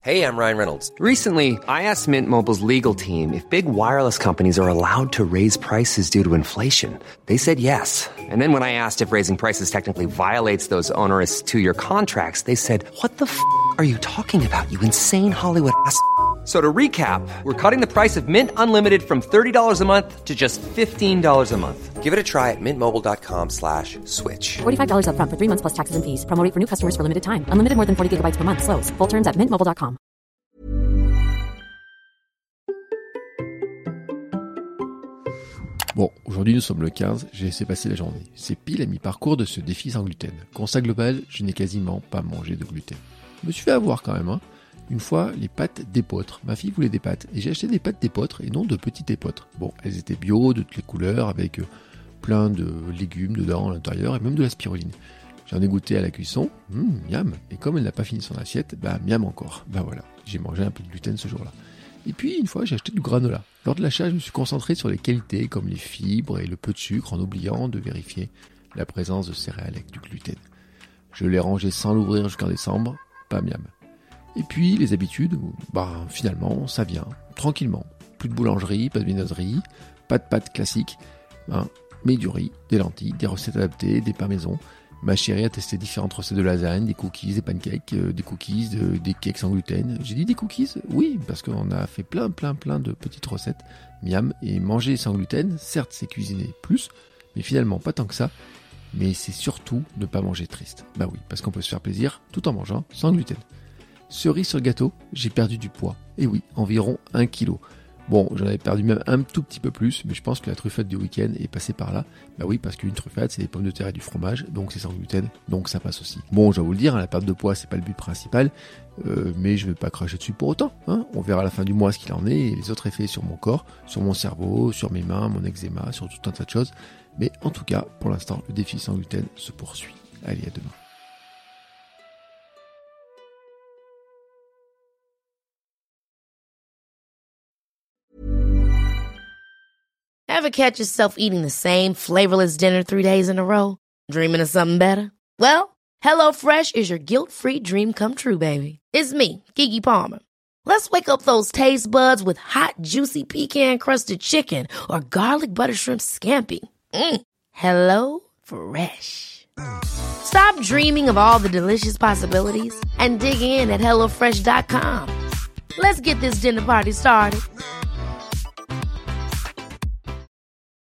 Hey, I'm Ryan Reynolds. Recently, I asked Mint Mobile's legal team if big wireless companies are allowed to raise prices due to inflation. They said yes. And then when I asked if raising prices technically violates those onerous two-year contracts, they said, "What the f*** are you talking about, you insane Hollywood ass?" So to recap, we're cutting the price of Mint Unlimited from $30 a month to just $15 a month. Give it a try at mintmobile.com/switch. $45 up front for 3 months plus taxes and fees. Promo rate for new customers for limited time. Unlimited more than 40 gigabytes per month. Slows full terms at mintmobile.com. Bon, aujourd'hui nous sommes le 15, j'ai laissé passer la journée. C'est pile à mi-parcours de ce défi sans gluten. Constat global, je n'ai quasiment pas mangé de gluten. Je me suis fait avoir quand même, hein. Une fois, les pâtes d'épeautre. Ma fille voulait des pâtes, et j'ai acheté des pâtes d'épeautre, et non de petites épeautres. Bon, elles étaient bio, de toutes les couleurs, avec plein de légumes dedans à l'intérieur, et même de la spiruline. J'en ai goûté à la cuisson, miam, et comme elle n'a pas fini son assiette, miam encore. Voilà, j'ai mangé un peu de gluten ce jour-là. Et puis, une fois, j'ai acheté du granola. Lors de l'achat, je me suis concentré sur les qualités, comme les fibres et le peu de sucre, en oubliant de vérifier la présence de céréales avec du gluten. Je l'ai rangé sans l'ouvrir jusqu'en décembre, pas miam. Et puis, les habitudes, finalement, ça vient, tranquillement. Plus de boulangerie, pas de viennoiserie, pas de pâtes classiques, mais du riz, des lentilles, des recettes adaptées, des pains maison. Ma chérie a testé différentes recettes de lasagne, des cookies, des pancakes, des cookies, des cakes sans gluten. J'ai dit des cookies ? Oui, parce qu'on a fait plein de petites recettes, miam, et manger sans gluten, certes c'est cuisiner plus, mais finalement pas tant que ça, mais c'est surtout ne pas manger triste. Oui, parce qu'on peut se faire plaisir tout en mangeant sans gluten. Cerise sur le gâteau, j'ai perdu du poids. Et oui, environ 1 kg. Bon, j'en avais perdu même un tout petit peu plus, mais je pense que la truffade du week-end est passée par là. Oui, parce qu'une truffade, c'est des pommes de terre et du fromage, donc c'est sans gluten, donc ça passe aussi. Bon, je vais vous le dire, la perte de poids, c'est pas le but principal, mais je vais pas cracher dessus pour autant. On verra à la fin du mois ce qu'il en est, et les autres effets sur mon corps, sur mon cerveau, sur mes mains, mon eczéma, sur tout un tas de choses. Mais en tout cas, pour l'instant, le défi sans gluten se poursuit. Allez, à demain. Ever catch yourself eating the same flavorless dinner 3 days in a row? Dreaming of something better? Well, HelloFresh is your guilt-free dream come true, baby. It's me, Keke Palmer. Let's wake up those taste buds with hot, juicy pecan-crusted chicken or garlic butter shrimp scampi. Hello Fresh. Stop dreaming of all the delicious possibilities and dig in at HelloFresh.com. Let's get this dinner party started.